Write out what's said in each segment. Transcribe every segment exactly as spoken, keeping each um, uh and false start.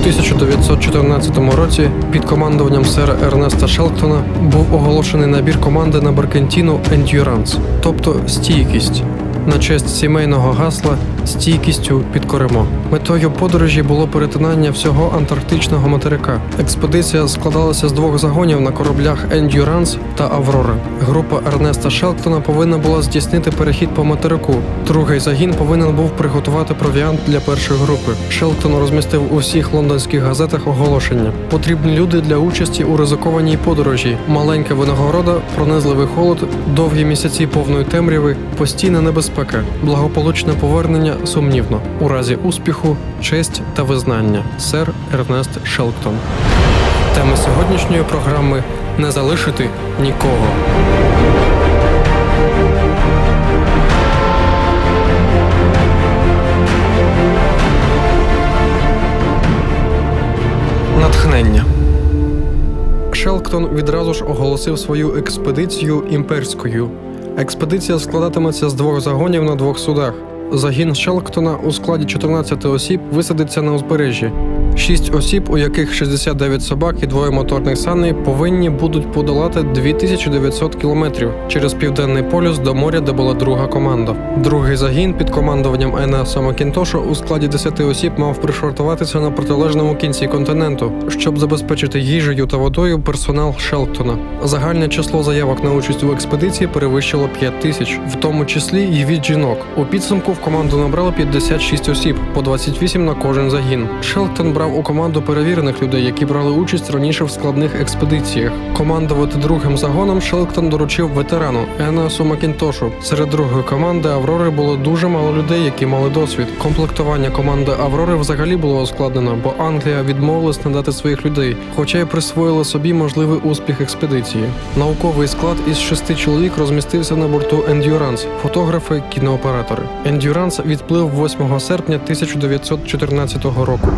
тисяча дев'ятсот чотирнадцятому році під командуванням сера Ернеста Шелктона був оголошений набір команди на Баркентіну «Ендюранс», тобто «стійкість», на честь сімейного гасла «стійкістю підкоримо». Метою подорожі було перетинання всього антарктичного материка. Експедиція складалася з двох загонів на кораблях «Ендюранс» та «Аврора». Група Ернеста Шелктона повинна була здійснити перехід по материку. Другий загін повинен був приготувати провіант для першої групи. Шелктон розмістив у всіх лондонських газетах оголошення. Потрібні люди для участі у ризикованій подорожі. Маленька винагорода, пронизливий холод, довгі місяці повної темряви, постійна небезпека, благополучне повернення сумнівно. У разі успіху, честь та визнання. Сер Ернест Шелктон. Тема сьогоднішньої програми – «Не залишити нікого». Натхнення. Шелктон відразу ж оголосив свою експедицію імперською. Експедиція складатиметься з двох загонів на двох судах. Загін Шелктона у складі чотирнадцяти осіб висадиться на узбережжі. Шість осіб, у яких шістдесят дев'ять собак і двоє моторних саней, повинні будуть подолати дві тисячі дев'ятсот кілометрів через Південний полюс до моря, де була друга команда. Другий загін під командуванням Енеаса Макінтоша у складі десяти осіб мав пришвартуватися на протилежному кінці континенту, щоб забезпечити їжею та водою персонал Шелктона. Загальне число заявок на участь у експедиції перевищило п'ять тисяч, в тому числі й від жінок. У підсумку в команду набрали п'ятдесят шість осіб, по двадцять вісім на кожен загін. Шелктон брав у команду перевірених людей, які брали участь раніше в складних експедиціях. Командувати другим загоном Шелктон доручив ветерану Енеасу Макінтошу. Серед другої команди Аврори було дуже мало людей, які мали досвід. Комплектування команди Аврори взагалі було ускладнено, бо Англія відмовилась надати своїх людей, хоча й присвоїла собі можливий успіх експедиції. Науковий склад із шести чоловік розмістився на борту «Ендюранс» – фотографи, кінооператори. «Ендюранс» відплив восьмого серпня тисяча дев'ятсот чотирнадцятого року.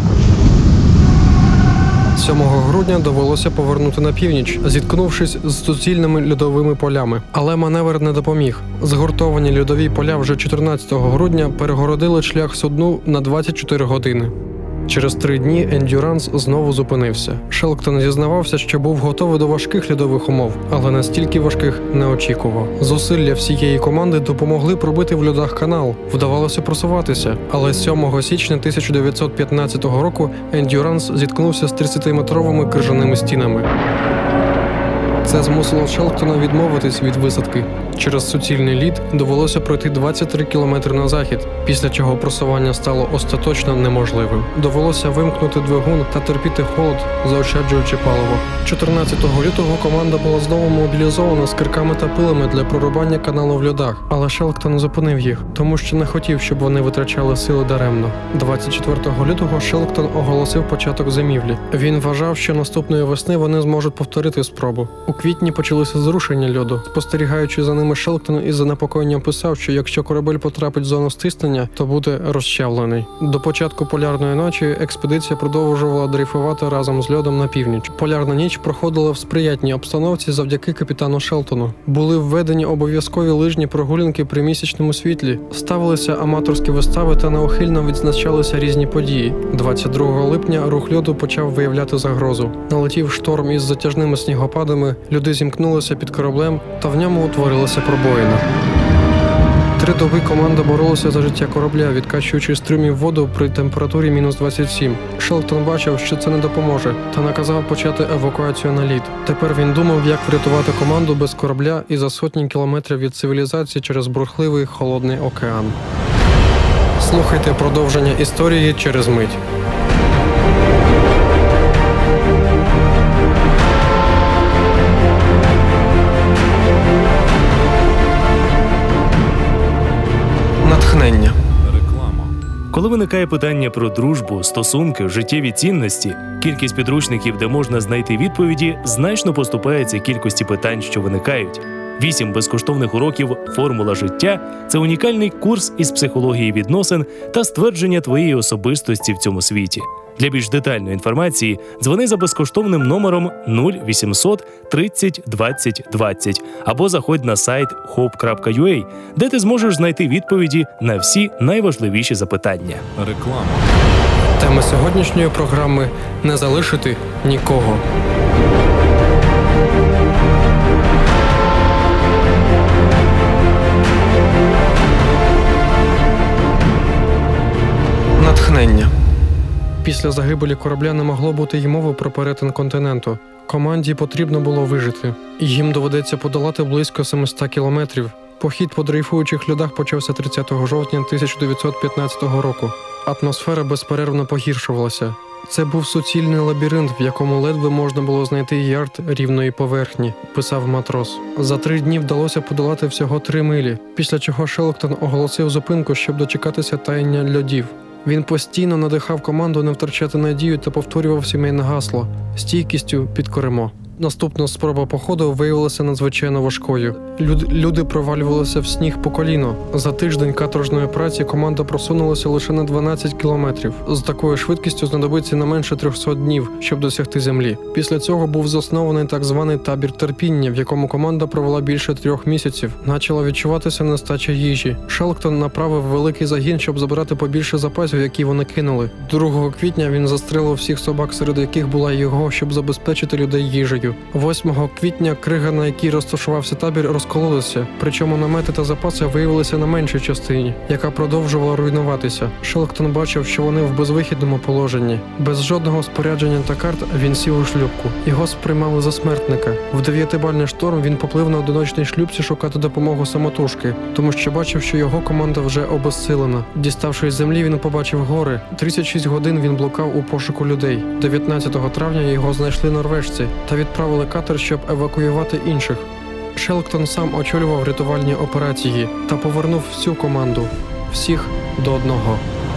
сьомого грудня довелося повернути на північ, зіткнувшись з суцільними льодовими полями. Але маневр не допоміг. Згуртовані льодові поля вже чотирнадцятого грудня перегородили шлях судну на двадцять чотири години. Через три дні «Ендюранс» знову зупинився. Шелктон зізнавався, що був готовий до важких льодових умов, але настільки важких не очікував. Зусилля всієї команди допомогли пробити в льодах канал. Вдавалося просуватися, але сьомого січня тисяча дев'ятсот п'ятнадцятого року «Ендюранс» зіткнувся з тридцятиметровими крижаними стінами. Це змусило Шелктона відмовитись від висадки. Через суцільний лід довелося пройти двадцять три кілометри на захід, після чого просування стало остаточно неможливим. Довелося вимкнути двигун та терпіти холод, заощаджуючи паливо. чотирнадцятого лютого команда була знову мобілізована з кирками та пилами для прорубання каналу в льодах, але Шелктон зупинив їх, тому що не хотів, щоб вони витрачали сили даремно. двадцять четвертого лютого Шелктон оголосив початок зимівлі. Він вважав, що наступної весни вони зможуть повторити спробу. У квітні почалося зрушення льоду. Спостерігаючи за ними, Шелктон із занепокоєнням писав, що якщо корабель потрапить в зону стиснення, то буде розчавлений. До початку полярної ночі експедиція продовжувала дрейфувати разом з льодом на північ. Полярна ніч проходила в сприятній обстановці завдяки капітану Шелктону. Були введені обов'язкові лижні прогулянки при місячному світлі, ставилися аматорські вистави та неухильно відзначалися різні події. двадцять другого липня рух льоду почав виявляти загрозу. Налетів шторм із затяжними снігопадами, люди зімкнулися під кораблем, та в ньому утворилася пробоїна. Три доби команда боролася за життя корабля, відкачуючи з трюмів воду при температурі мінус двадцять сім. Шелктон бачив, що це не допоможе, та наказав почати евакуацію на лід. Тепер він думав, як врятувати команду без корабля і за сотні кілометрів від цивілізації через бурхливий холодний океан. Слухайте продовження історії через мить. Натхнення. Реклама. Коли виникає питання про дружбу, стосунки, життєві цінності, кількість підручників, де можна знайти відповіді, значно поступається кількості питань, що виникають. Вісім безкоштовних уроків «Формула життя» – це унікальний курс із психології відносин та ствердження твоєї особистості в цьому світі. Для більш детальної інформації дзвони за безкоштовним номером нуль вісімсот тридцять двадцять двадцять або заходь на сайт хоуп крапка ю а, де ти зможеш знайти відповіді на всі найважливіші запитання. Реклама. Тема сьогоднішньої програми – не залишити нікого. Натхнення. Після загибелі корабля не могло бути й мови про перетин континенту. Команді потрібно було вижити. Їм доведеться подолати близько сімсот кілометрів. Похід по дрейфуючих льодах почався тридцятого жовтня тисяча дев'ятсот п'ятнадцятого року. Атмосфера безперервно погіршувалася. Це був суцільний лабіринт, в якому ледве можна було знайти ярд рівної поверхні, писав матрос. За три дні вдалося подолати всього три милі, після чого Шелктон оголосив зупинку, щоб дочекатися таяння льодів. Він постійно надихав команду не втрачати надію та повторював сімейне гасло «Стійкістю підкоримо». Наступна спроба походу виявилася надзвичайно важкою. Люд, люди провалювалися в сніг по коліно. За тиждень каторжної праці команда просунулася лише на дванадцять кілометрів. З такою швидкістю знадобиться не менше трьохсот днів, щоб досягти землі. Після цього був заснований так званий табір терпіння, в якому команда провела більше трьох місяців. Почала відчуватися нестача їжі. Шелктон направив великий загін, щоб забрати побільше запасів, які вони кинули. другого квітня він застрелив всіх собак, серед яких була його, щоб забезпечити людей їжею. восьмого квітня крига, на якій розташувався табір, розкололася, причому намети та запаси виявилися на меншій частині, яка продовжувала руйнуватися. Шелктон бачив, що вони в безвихідному положенні. Без жодного спорядження та карт він сів у шлюпку. Його сприймали за смертника. В дев'ятибальний шторм він поплив на одиночній шлюпці шукати допомогу самотужки, тому що бачив, що його команда вже обезсилена. Діставшись з землі, він побачив гори. тридцять шість годин він блукав у пошуку людей. дев'ятнадцятого травня його знайшли норвежці та відправили катер, щоб евакуювати інших. Шелктон сам очолював рятувальні операції та повернув всю команду. Всіх до одного.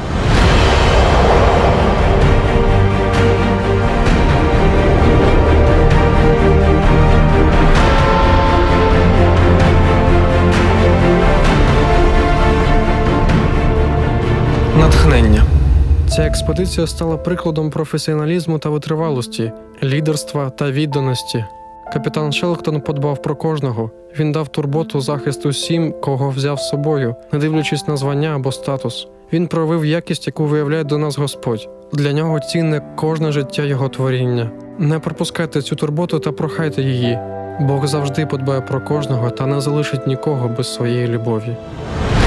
Натхнення. Ця експедиція стала прикладом професіоналізму та витривалості, лідерства та відданості. Капітан Шелктон подбав про кожного. Він дав турботу, захист усім, кого взяв з собою, не дивлячись на звання або статус. Він проявив якість, яку виявляє до нас Господь. Для нього цінне кожне життя його творіння. Не пропускайте цю турботу та прохайте її. Бог завжди подбає про кожного та не залишить нікого без своєї любові.